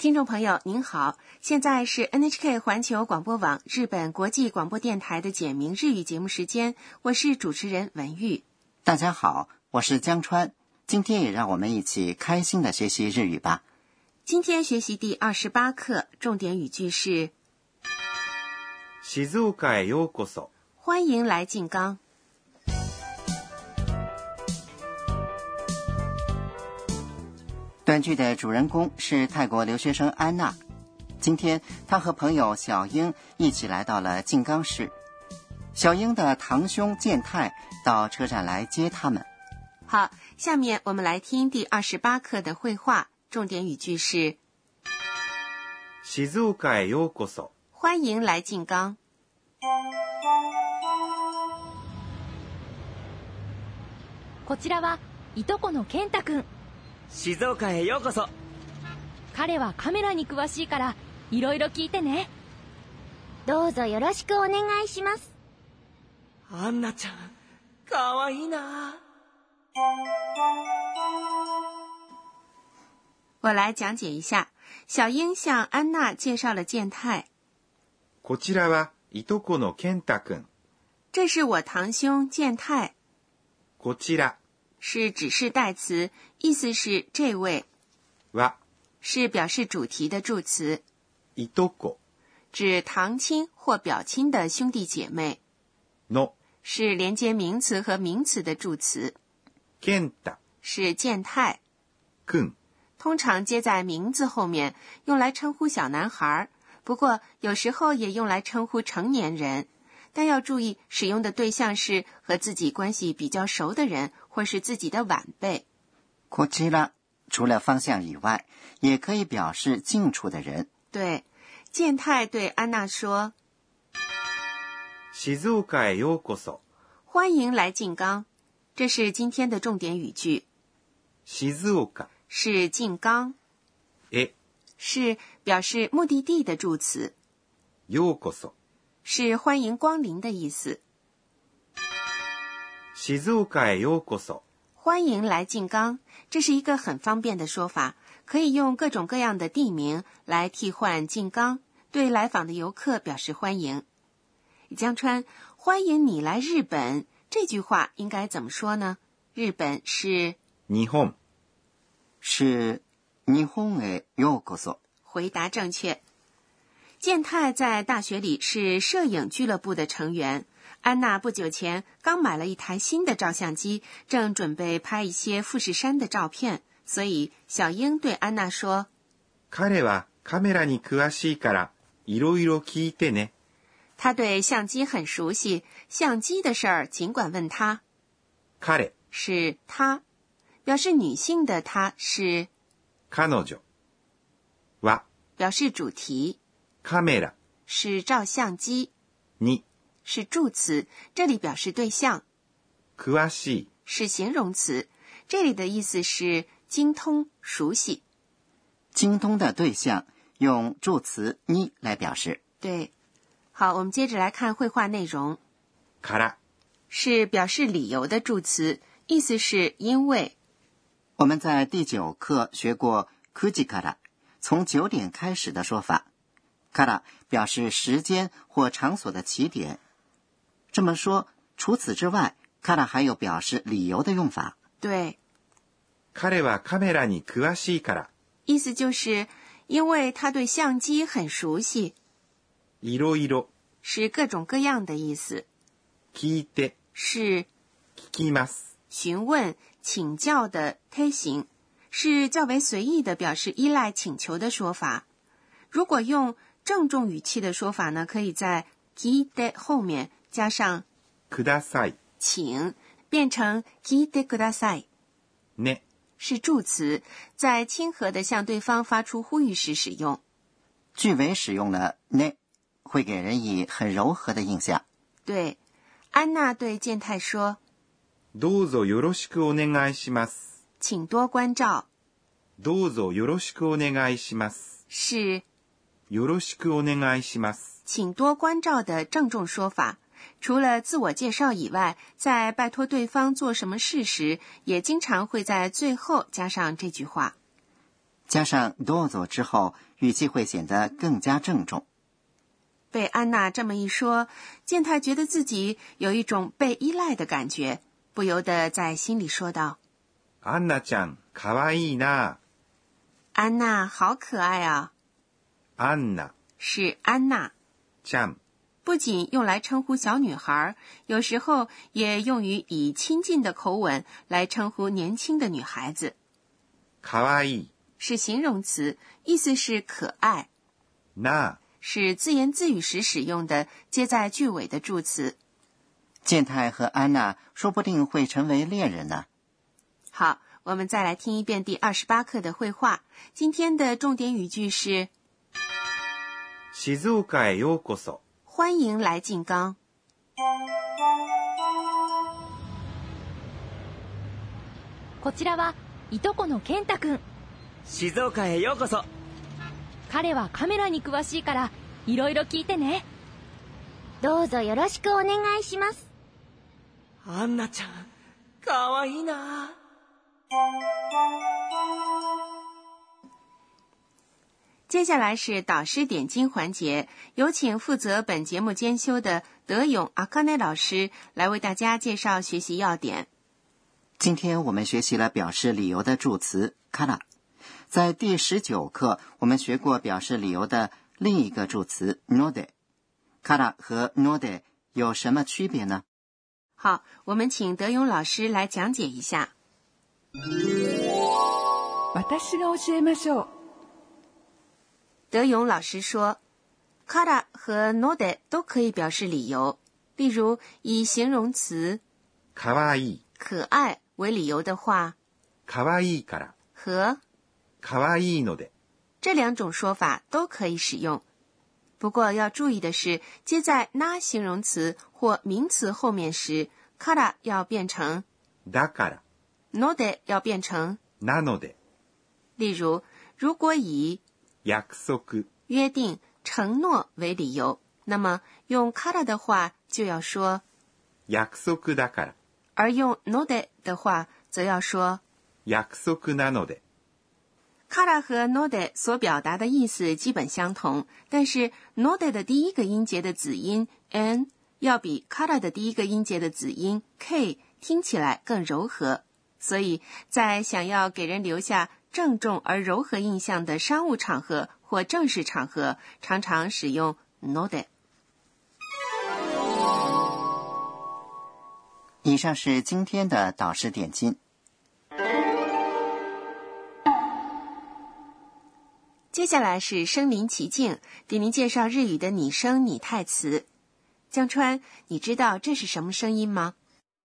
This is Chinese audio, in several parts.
听众朋友您好，现在是 NHK 环球广播网日本国际广播电台的简明日语节目时间，我是主持人文玉。 大家好，我是江川，今天也让我们一起开心的学习日语吧。 今天学习第28课，重点语句是静岡へようこそ。 欢迎来静冈。 短剧的主人公是泰国留学生安娜，今天她和朋友小英一起来到了静冈市。小英的堂兄健太到车站来接他们。 好，下面我们来听第28课的绘画，重点语句是静岡へようこそ。 欢迎来静冈。 こちらはいとこの健太くん。 静岡へようこそ。 彼はカメラに詳しいからいろいろ聞いてね。 どうぞよろしくお願いします。 アンナちゃん、かわいいな。 我来讲解一下，小英向安娜介绍了健太。 こちらはいとこの健太くん。 这是我堂兄健太。 こちら是指示代词，意思是这位。 は是表示主题的助词。 いとこ指堂亲或表亲的兄弟姐妹。 の是连接名词和名词的助词。 健太是健太。 くん通常接在名字后面，用来称呼小男孩，不过有时候也用来称呼成年人。但要注意，使用的对象是和自己关系比较熟的人，或是自己的晚辈。 こちら除了方向以外，也可以表示近处的人。 对，健太对安娜说： 静岡へようこそ。 欢迎来静冈。这是今天的重点语句。 静岡是静冈， へ是表示目的地的助词。 ようこそ是欢迎光临的意思。 静岡へようこそ。 欢迎来静冈，这是一个很方便的说法，可以用各种各样的地名来替换静冈，对来访的游客表示欢迎。江川，欢迎你来日本，这句话应该怎么说呢？日本是日本。 是日本へようこそ。 回答正确。健太在大学里是摄影俱乐部的成员。安娜不久前刚买了一台新的照相机，正准备拍一些富士山的照片，所以小英对安娜说： 彼はカメラに詳しいからいろいろ聞いてね。 他对相机很熟悉，相机的事儿尽管问他。 彼是他，表示女性的他是彼女は表示主题。 カメラ是照相机。 に是助词，这里表示对象。 詳しい是形容词，这里的意思是精通、熟悉。 精通的对象用助词に来表示。 对，好，我们接着来看绘画内容。 から是表示理由的助词，意思是因为。 我们在第9课学过9時から，从9点开始的说法。から表示时间或场所的起点。这么说，除此之外，から还有表示理由的用法。 对， 彼はカメラに詳しいから。 意思就是因为他对相机很熟悉。 いろいろ是各种各样的意思。 聞いて是聞きます。 询问、请教的推行，是较为随意的表示依赖请求的说法。如果用郑重语气的说法呢，可以在聞いて后面加上ください请，变成聞いてください。 ね是助词，在亲和的向对方发出呼吁时使用。 句尾使用了ね，会给人以很柔和的印象。 对，安娜对健太说： どうぞよろしくお願いします。 请多关照。 どうぞよろしくお願いします。 是よろしくお願いします。 请多关照的郑重说法。除了自我介绍以外，在拜托对方做什么事时，也经常会在最后加上这句话。 加上どうぞ之后，语气会显得更加郑重。 被安娜这么一说，健太觉得自己有一种被依赖的感觉，不由得在心里说道： アンナちゃん、かわいいな。 安娜好可爱啊。 アンナ是安娜， ちゃん不仅用来称呼小女孩，有时候也用于以亲近的口吻来称呼年轻的女孩子。 かわいい是形容词，意思是可爱。 な是自言自语时使用的接在句尾的助词。 健太和安娜说不定会成为恋人呢。 好，我们再来听一遍第28课的绘画。今天的重点语句是静岡へようこそ。 欢迎来静冈。 こちらはいとこの健太くん。 静岡へようこそ。 彼はカメラに詳しいからいろいろ聞いてね。 どうぞよろしくお願いします。 アンナちゃん、かわいいな。 接下来是导师点睛环节，有请负责本节目监修的德勇阿卡内老师来为大家介绍学习要点。 今天我们学习了表示理由的助词から。在第19课，我们学过表示理由的另一个助詞ので。から和ので有什么区别呢？ 好，我们请德勇老师来讲解一下。 私が教えましょう。 德勇老师说，から和ので都可以表示理由。例如，以形容词かわいい可爱为理由的话， かわいいから和かわいいので这两种说法都可以使用。不过要注意的是，接在那形容词或名词后面时，から要变成だからので要变成なので。 例如，如果以約束约定、承诺为理由，那么用から的话就要说約束だから而用ので的话则要说約束なので。 から和ので所表达的意思基本相同，但是ので的第一个音节的子音 n 要比から的第一个音节的子音 k 听起来更柔和，所以在想要给人留下郑重而柔和印象的商务场合或正式场合，常常使用ので。 以上是今天的导师点睛。 接下来是身临其境，给您介绍日语的拟声拟态词。江川，你知道这是什么声音吗？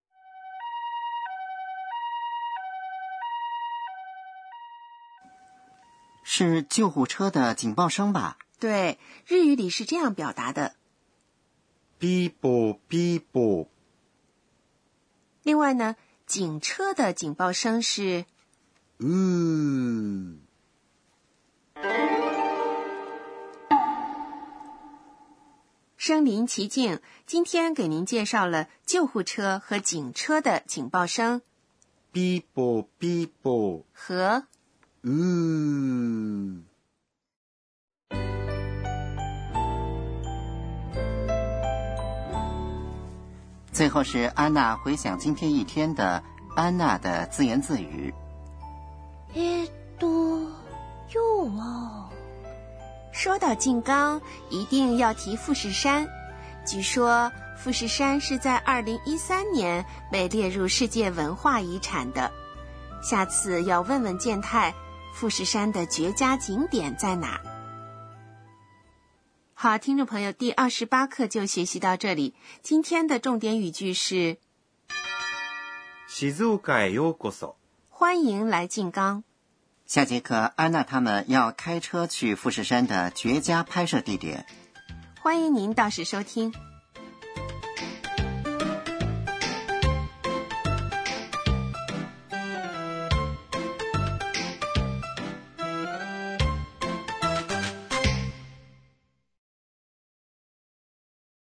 是救护车的警报声吧？ 对，日语里是这样表达的。 ピーポーピーポー。 另外呢，警车的警报声是身临其境，今天给您介绍了救护车和警车的警报声ピーポーピーポー和最后是安娜回想今天一天的安娜的自言自语。 今日は说到静冈，一定要提富士山。据说富士山是在2013年被列入世界文化遗产的。下次要问问健太，富士山的绝佳景点在哪？好，听众朋友，第28课就学习到这里。今天的重点语句是静岡へようこそ。 欢迎来静冈。 下节课安娜他们要开车去富士山的绝佳拍摄地点。 欢迎您到时收听。